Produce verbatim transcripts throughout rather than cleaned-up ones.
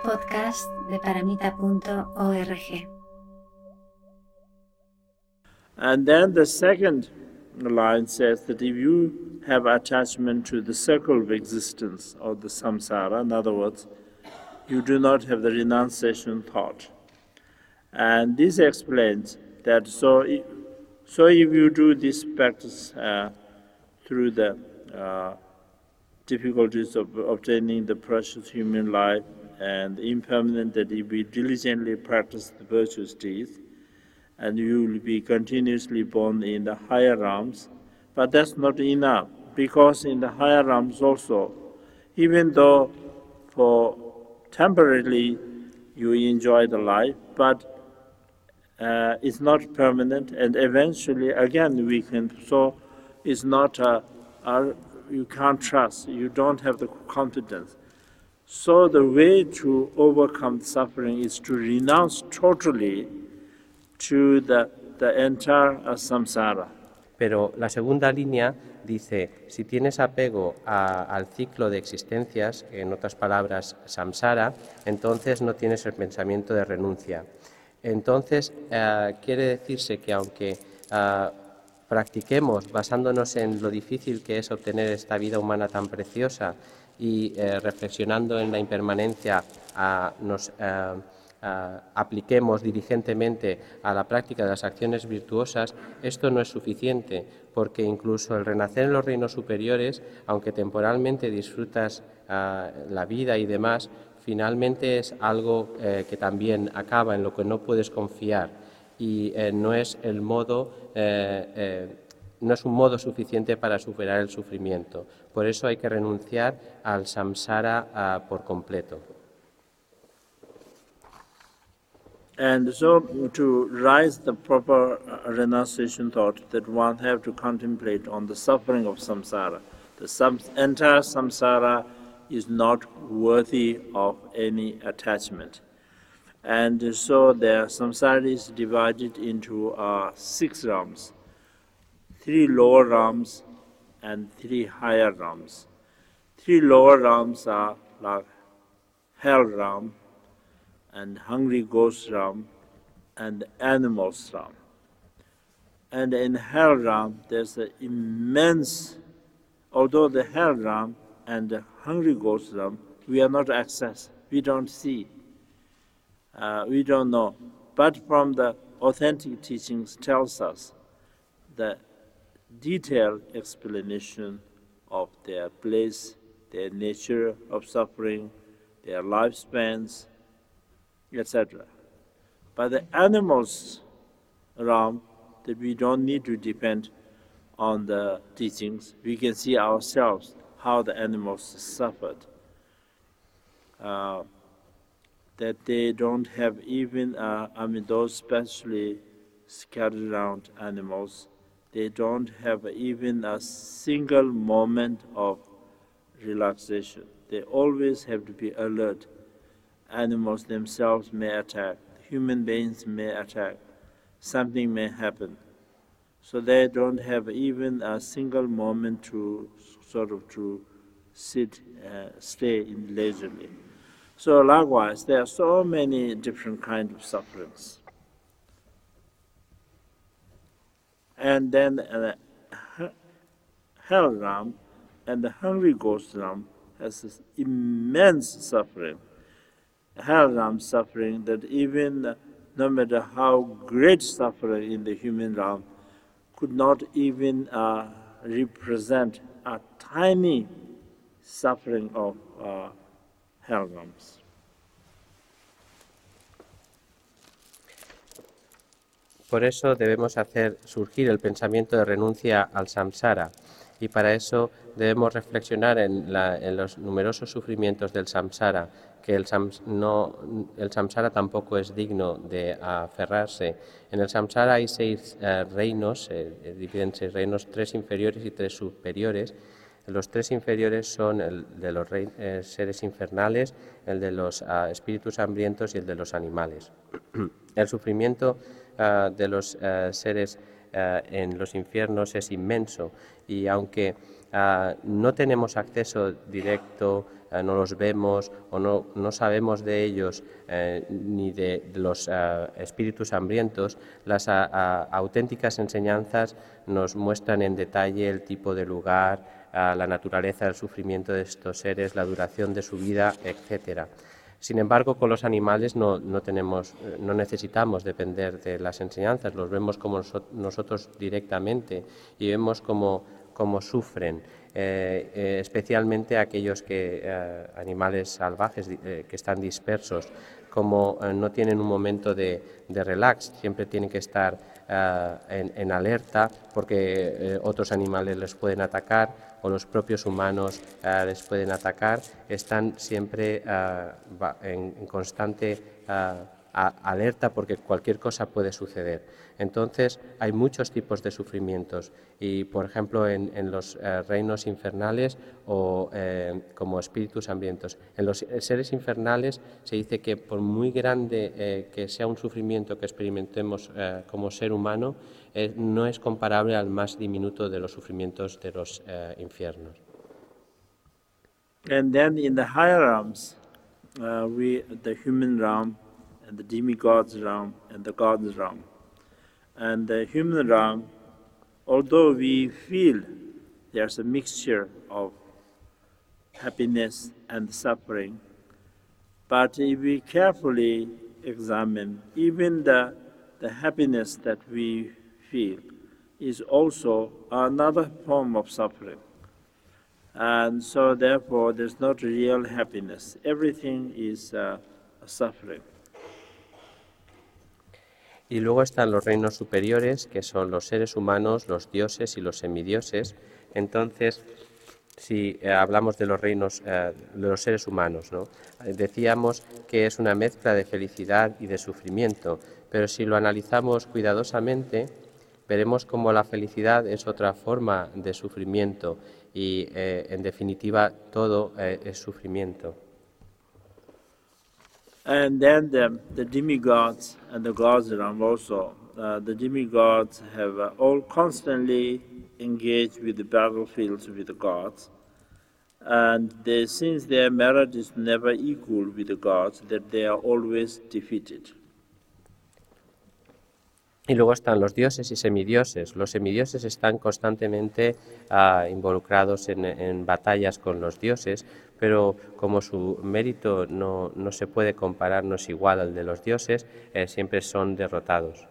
podcast de paramita punto org. And then the second line says that if you have attachment to the circle of existence or the samsara, in other words, you do not have the renunciation thought. And this explains that so if, so if you do this practice uh, through the uh, difficulties of obtaining the precious human life and impermanent, that if we diligently practice the virtuous deeds, and you will be continuously born in the higher realms. But that's not enough, because in the higher realms also, even though for temporarily you enjoy the life, but uh, it's not permanent, and eventually again we can, so it's not, a, a, you can't trust, you don't have the confidence. So the way to overcome suffering is to renounce totally to the, the entire uh, samsara. Pero la segunda línea dice, si tienes apego a, al ciclo de existencias, en otras palabras, samsara, entonces no tienes el pensamiento de renuncia. Entonces, eh, quiere decirse que aunque eh, practiquemos basándonos en lo difícil que es obtener esta vida humana tan preciosa y eh, reflexionando en la impermanencia, a, nos eh, Uh, apliquemos diligentemente a la práctica de las acciones virtuosas, esto no es suficiente, porque incluso el renacer en los reinos superiores, aunque temporalmente disfrutas uh, la vida y demás, finalmente es algo eh, que también acaba, en lo que no puedes confiar, y eh, no es el modo eh, eh, no es un modo suficiente para superar el sufrimiento. Por eso hay que renunciar al samsara uh, por completo. And so to rise the proper renunciation thought, that one have to contemplate on the suffering of samsara. The sam- entire samsara is not worthy of any attachment. And so the samsara is divided into uh, six realms, three lower realms and three higher realms. Three lower realms are like hell realm, and hungry ghost realm, and animals realm. And in hell realm, there's an immense, although the hell realm and the hungry ghost realm, we are not access, we don't see, uh, we don't know. But from the authentic teachings tells us the detailed explanation of their place, their nature of suffering, their lifespans, et cetera. But the animals realm, that we don't need to depend on the teachings. We can see ourselves how the animals suffered. Uh, that they don't have even, uh, I mean, those specially scattered around animals, they don't have even a single moment of relaxation. They always have to be alert. Animals themselves may attack, human beings may attack, something may happen. So they don't have even a single moment to sort of to sit, uh, stay in leisurely. So likewise, there are so many different kinds of sufferings. And then uh, hell realm and the hungry ghost realm has this immense suffering. Hell realm suffering that even no matter how great suffering in the human realm could not even uh, represent a tiny suffering of uh, hell realms. Por eso debemos hacer surgir el pensamiento de renuncia al samsara, y para eso debemos reflexionar en, la, en los numerosos sufrimientos del samsara, que el, sams, no, el samsara tampoco es digno de aferrarse. En el samsara hay seis eh, reinos, eh, dividen seis reinos, tres inferiores y tres superiores. Los tres inferiores son el de los rey, eh, seres infernales, el de los uh, espíritus hambrientos y el de los animales. El sufrimiento uh, de los uh, seres uh, en los infiernos es inmenso, y aunque uh, no tenemos acceso directo eh, no los vemos o no, no sabemos de ellos eh, ni de, de los eh, espíritus hambrientos, las a, a, auténticas enseñanzas nos muestran en detalle el tipo de lugar, a la naturaleza del sufrimiento de estos seres, la duración de su vida, etcétera. Sin embargo, con los animales no, no, tenemos, no necesitamos depender de las enseñanzas, los vemos como nosotros directamente y vemos cómo, cómo sufren, eh, eh, especialmente aquellos que, eh, animales salvajes eh, que están dispersos, como eh, no tienen un momento de, de relax, siempre tienen que estar eh, en, en alerta porque eh, otros animales les pueden atacar o los propios humanos uh, les pueden atacar, están siempre uh, en, en constante uh, a, alerta porque cualquier cosa puede suceder. Entonces hay muchos tipos de sufrimientos y, por ejemplo, en, en los uh, reinos infernales o eh, como espíritus hambrientos. En los seres infernales se dice que por muy grande eh, que sea un sufrimiento que experimentemos eh, como ser humano, Eh, no es comparable al más diminuto de los sufrimientos de los eh, infiernos. And then in the higher realms, uh, we the human realm, and the demigods realm, and the gods realm. And the human realm, although we feel there's a mixture of happiness and suffering, but if we carefully examine, even the the happiness that we feel is also another form of suffering. And so therefore there's not real happiness. Everything is uh, a suffering. Y luego están los reinos superiores, que son los seres humanos, los dioses y los semidioses. Entonces, si eh, hablamos de los reinos, eh, de los seres humanos, ¿no? Decíamos que es una mezcla de felicidad y de sufrimiento, pero si lo analizamos cuidadosamente, veremos cómo la felicidad es otra forma de sufrimiento y, eh, en definitiva, todo eh, es sufrimiento. And then the, the demigods and the gods realm also. Uh, the demigods have uh, all constantly engaged with the battlefields with the gods. And they, since their merit is never equal with the gods, that they are always defeated. Y luego están los dioses y semidioses. Los semidioses están constantemente uh, involucrados en, en batallas con los dioses, pero como su mérito no, no se puede comparar, no es igual al de los dioses, eh, siempre son derrotados.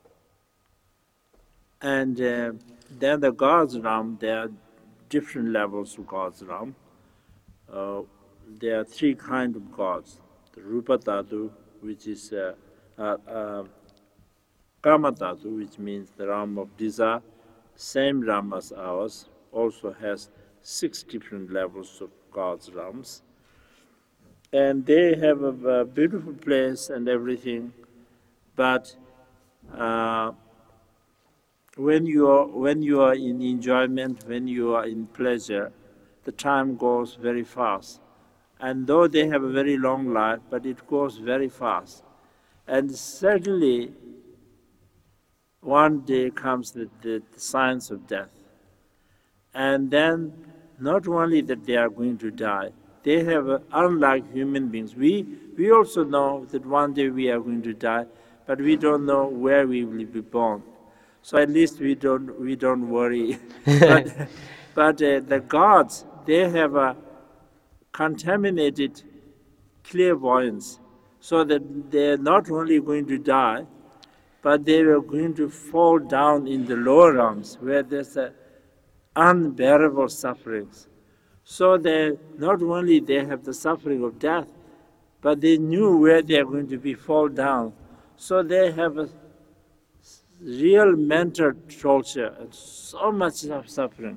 And uh, then the gods realm, there are different levels of gods realm. Uh, there are three kinds of gods. The Rupa Dhatu, which is uh, uh, uh, Kama Dhatu, which means the realm of desire, same realm as ours, also has six different levels of God's realms. And they have a, a beautiful place and everything, but uh, when you are when you are in enjoyment, when you are in pleasure, the time goes very fast. And though they have a very long life, but it goes very fast. And certainly, one day comes the, the, the signs of death. And then, not only that they are going to die, they have, a, unlike human beings, we, we also know that one day we are going to die, but we don't know where we will be born. So at least we don't, we don't worry. but but uh, the gods, they have a contaminated clairvoyance, so that they're not only going to die, but they were going to fall down in the lower realms where there's a unbearable sufferings. So they not only they have the suffering of death, but they knew where they are going to be fall down. So they have a real mental torture and so much of suffering.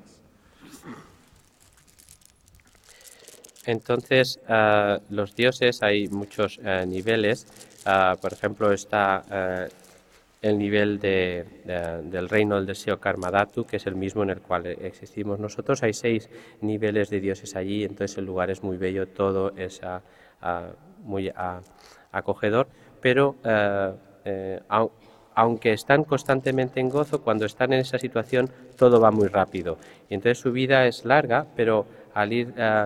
Entonces, uh, los dioses hay muchos uh, niveles. Uh, por ejemplo, está uh, el nivel de, de, del reino del deseo Karmadhatu, que es el mismo en el cual existimos nosotros. Hay seis niveles de dioses allí, entonces el lugar es muy bello, todo es uh, uh, muy uh, acogedor, pero uh, eh, au, aunque están constantemente en gozo, cuando están en esa situación todo va muy rápido. Y entonces su vida es larga, pero al ir uh,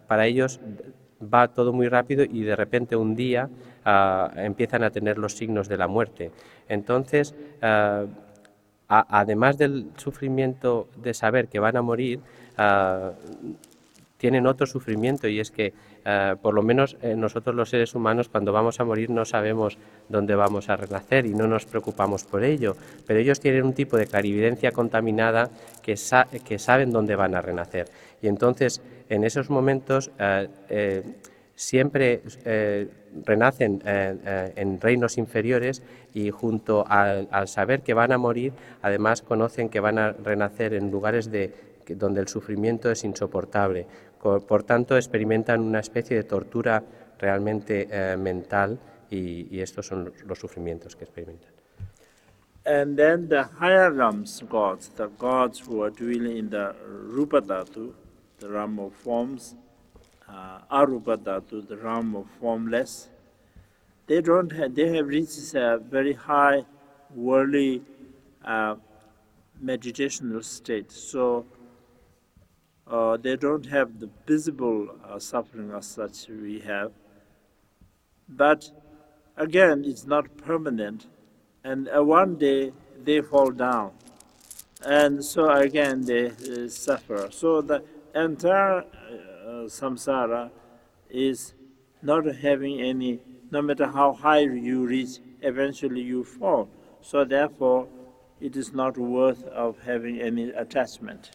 para ellos va todo muy rápido y de repente un día uh, empiezan a tener los signos de la muerte. Entonces, uh, a, además del sufrimiento de saber que van a morir, uh, tienen otro sufrimiento, y es que uh, por lo menos eh, nosotros los seres humanos, cuando vamos a morir, no sabemos dónde vamos a renacer y no nos preocupamos por ello, pero ellos tienen un tipo de clarividencia contaminada que, sa que saben dónde van a renacer, y entonces en esos momentos uh, eh, siempre eh, renacen eh, eh, en reinos inferiores, y junto al, al saber que van a morir, además conocen que van a renacer en lugares de, donde el sufrimiento es insoportable. Por tanto, experimentan una especie de tortura realmente eh, mental, y, y estos son los, los sufrimientos que experimentan. And then the higher realms gods, the gods who are dwelling in the Rupa Dhatu, the realm of forms, uh, Arupa Dhatu, the realm of formless, they don't have, they have reached a very high worldly uh, meditational state. So uh, they don't have the visible uh, suffering as such we have. But again, it's not permanent. And uh, one day they fall down. And so again they uh, suffer. So the entire uh, samsara is not having any, no matter how high you reach, eventually you fall. So therefore, it is not worth of having any attachment.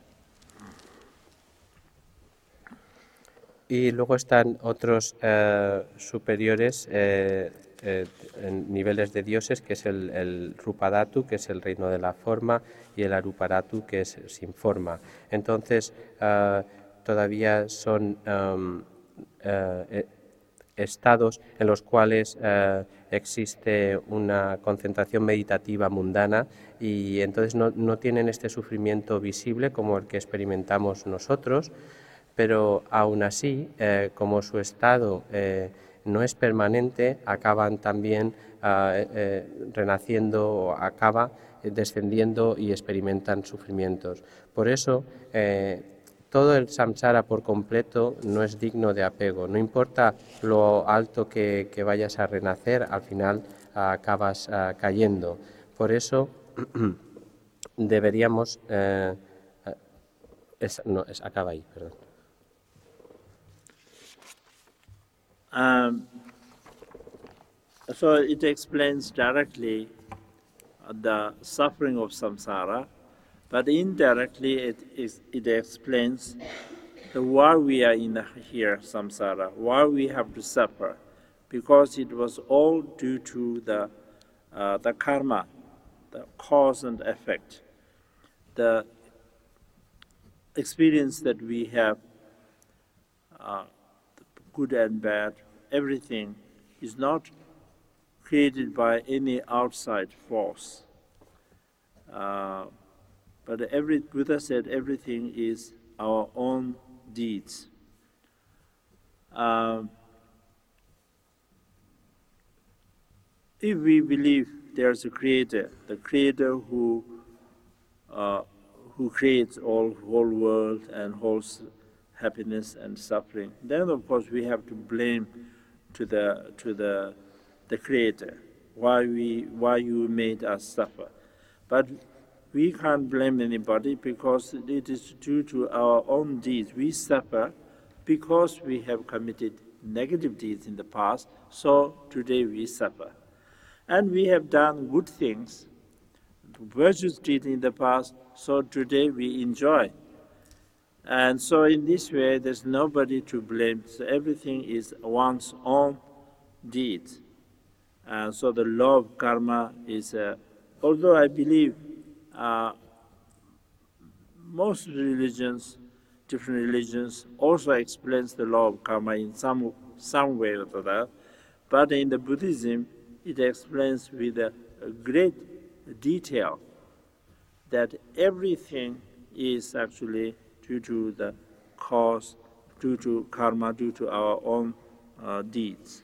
Y luego están otros eh, superiores eh, eh, en niveles de dioses, que es el, el Rupadhatu, que es el reino de la forma, y el Arupadhatu, que es sin forma. Entonces, eh, todavía son um, eh, estados en los cuales eh, existe una concentración meditativa mundana, y entonces no, no tienen este sufrimiento visible como el que experimentamos nosotros, pero aún así, eh, como su estado eh, no es permanente, acaban también eh, eh, renaciendo, o acaba descendiendo y experimentan sufrimientos. Por eso, eh, todo el samsara por completo no es digno de apego. No importa lo alto que, que vayas a renacer, al final uh, acabas uh, cayendo. Por eso deberíamos... Eh, es, no, es, acaba ahí, perdón. Um, so it explains directly the suffering of samsara, but indirectly it, is, it explains the why we are in the, here, samsara, why we have to suffer, because it was all due to the, uh, the karma, the cause and effect, the experience that we have, uh, good and bad, everything is not created by any outside force. Uh, but every, Buddha said everything is our own deeds. Uh, if we believe there's a creator, the creator who uh, who creates all whole world and whole happiness and suffering, then of course we have to blame to the to the the creator why we why you made us suffer. But we can't blame anybody, because it is due to our own deeds. We suffer because we have committed negative deeds in the past, so today we suffer. And we have done good things, virtuous deeds in the past, so today we enjoy. And so in this way, there's nobody to blame. So everything is one's own deeds. And so the law of karma is, uh, although I believe uh, most religions, different religions, also explains the law of karma in some some way or other, but in the Buddhism, it explains with a, a great detail that everything is actually due to the cause, due to karma, due to our own uh, deeds.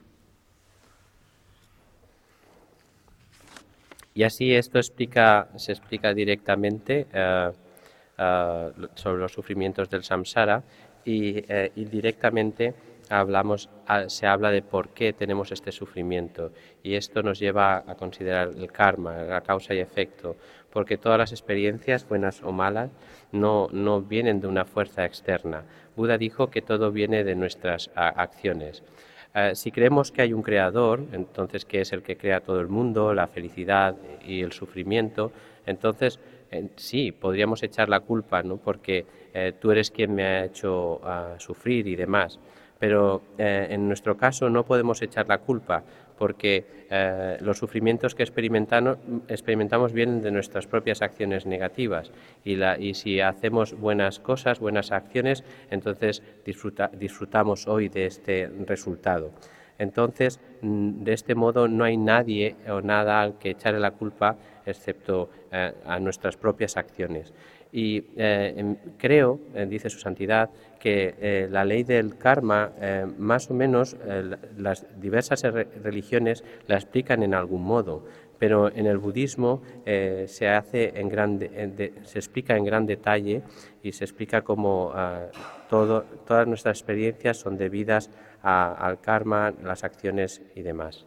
Y así esto explica, se explica directamente uh, uh, sobre los sufrimientos del samsara, y eh, indirectamente hablamos, se habla de por qué tenemos este sufrimiento, y esto nos lleva a considerar el karma, la causa y efecto, porque todas las experiencias, buenas o malas, no, no vienen de una fuerza externa. Buda dijo que todo viene de nuestras a, acciones. Uh, si creemos que hay un creador, entonces que es el que crea todo el mundo, la felicidad y el sufrimiento, entonces eh, sí, podríamos echar la culpa, ¿no? Porque eh, tú eres quien me ha hecho uh, sufrir y demás. Pero eh, en nuestro caso no podemos echar la culpa, porque eh, los sufrimientos que experimentamos, experimentamos vienen de nuestras propias acciones negativas, y, la, y si hacemos buenas cosas, buenas acciones, entonces disfruta, disfrutamos hoy de este resultado. Entonces, de este modo no hay nadie o nada al que echarle la culpa excepto eh, a nuestras propias acciones. Y eh, creo, eh, dice su santidad, que eh, la ley del karma, eh, más o menos eh, las diversas religiones la explican en algún modo, pero en el budismo eh, se hace en gran de, de, se explica en gran detalle, y se explica cómo uh, todo, todas nuestras experiencias son debidas a, al karma, las acciones y demás.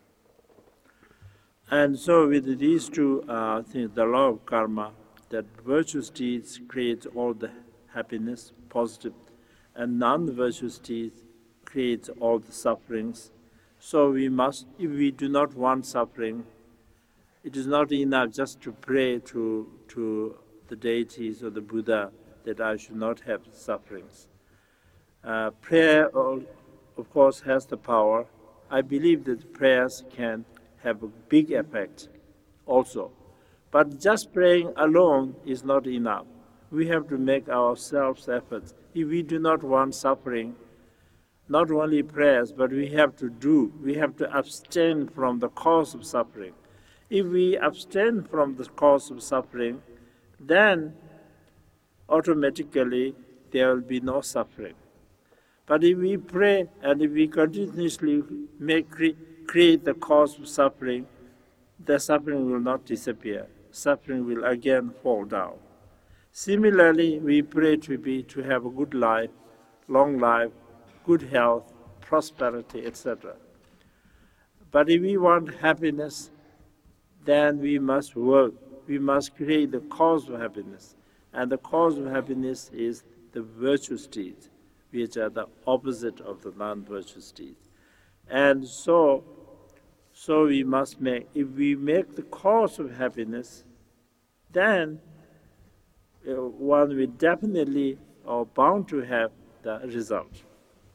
And so with these two uh, things, the law of karma, that virtuous deeds create all the happiness, positive, and non-virtuous deeds create all the sufferings. So we must, if we do not want suffering, it is not enough just to pray to, to the deities or the Buddha that I should not have sufferings. Uh, prayer, of course, has the power. I believe that prayers can have a big effect also. But just praying alone is not enough. We have to make ourselves efforts. If we do not want suffering, not only prayers, but we have to do, we have to abstain from the cause of suffering. If we abstain from the cause of suffering, then automatically there will be no suffering. But if we pray and if we continuously make, create the cause of suffering, the suffering will not disappear. Suffering will again fall down. Similarly, we pray to be to have a good life, long life, good health, prosperity, et cetera. But if we want happiness, then we must work. We must create the cause of happiness. And the cause of happiness is the virtuous deeds, which are the opposite of the non-virtuous deeds. And so, so we must make, if we make the cause of happiness, then uh, one will definitely or bound to have the result.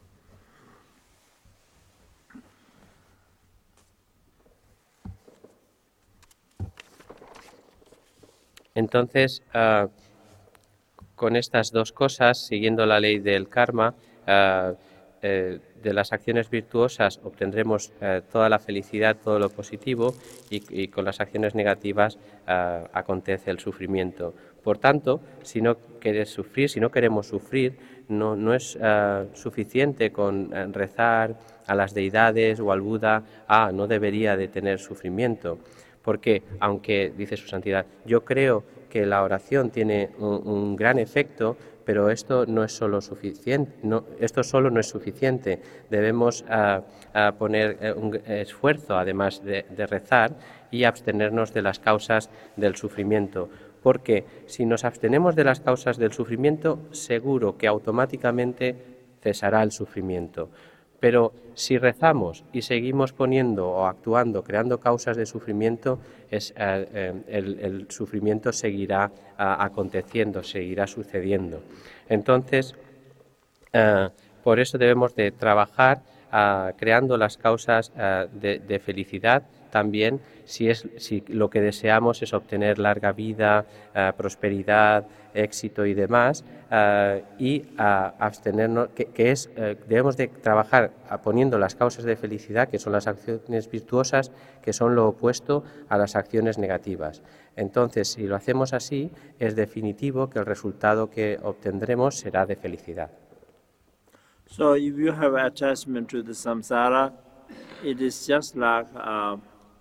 Entonces, uh, con estas dos cosas, siguiendo la ley del karma, uh, eh, de las acciones virtuosas obtendremos uh, toda la felicidad, todo lo positivo, y, y con las acciones negativas uh, acontece el sufrimiento. Por tanto, si no quieres sufrir, si no queremos sufrir, no, no es uh, suficiente con uh, rezar a las deidades o al Buda, ah, no debería de tener sufrimiento. Porque, aunque, dice su santidad, yo creo que la oración tiene un, un gran efecto, pero esto no es solo suficiente, no, esto solo no es suficiente. Debemos uh, uh, poner un esfuerzo, además de, de rezar, y abstenernos de las causas del sufrimiento. Porque si nos abstenemos de las causas del sufrimiento, seguro que automáticamente cesará el sufrimiento. Pero si rezamos y seguimos poniendo o actuando, creando causas de sufrimiento, es, eh, eh, el, el sufrimiento seguirá eh, aconteciendo, seguirá sucediendo. Entonces, eh, por eso debemos de trabajar eh, creando las causas eh, de, de felicidad. También, si, es, si lo que deseamos es obtener larga vida, eh, prosperidad, éxito y demás, uh, y uh, abstenernos, que, que es, uh, debemos de trabajar poniendo las causas de felicidad, que son las acciones virtuosas, que son lo opuesto a las acciones negativas. Entonces, si lo hacemos así, es definitivo que el resultado que obtendremos será de felicidad. So, if you have attachment to the samsara, it is just like uh,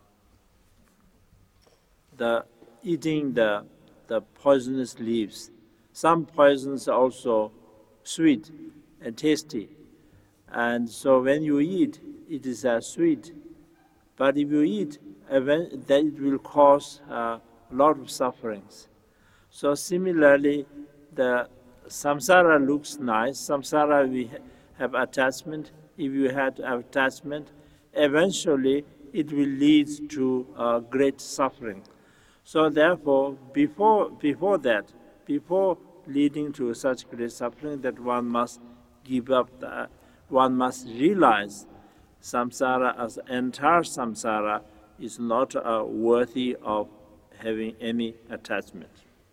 the eating the the poisonous leaves. Some poisons also sweet and tasty. And so when you eat, it is uh, sweet. But if you eat, then it will cause uh, a lot of sufferings. So similarly, the samsara looks nice. Samsara, we have attachment. If you had attachment, eventually it will lead to uh, great suffering. So therefore, before, before that, before leading to such great suffering, that one must give up, the, one must realize samsara as entire samsara is not uh, worthy of having any attachment.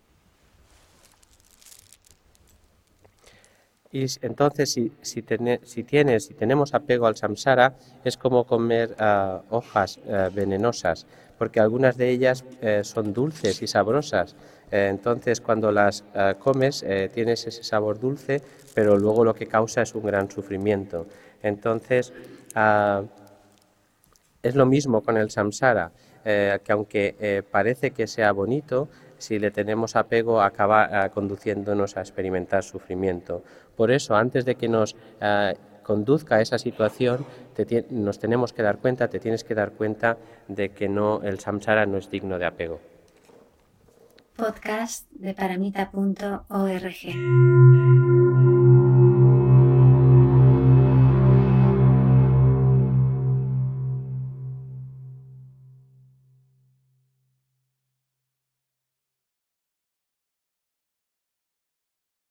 Y entonces, si, si, ten, si tienes, si tenemos apego al samsara, es como comer uh, hojas uh, venenosas, porque algunas de ellas uh, son dulces y sabrosas. Uh, entonces, cuando las uh, comes, uh, tienes ese sabor dulce, pero luego lo que causa es un gran sufrimiento. Entonces, uh, es lo mismo con el samsara, uh, que aunque uh, parece que sea bonito, si le tenemos apego, acaba uh, conduciéndonos a experimentar sufrimiento. Por eso, antes de que nos uh, conduzca a esa situación, te, nos tenemos que dar cuenta, te tienes que dar cuenta de que no, el samsara no es digno de apego. Podcast de paramita punto org.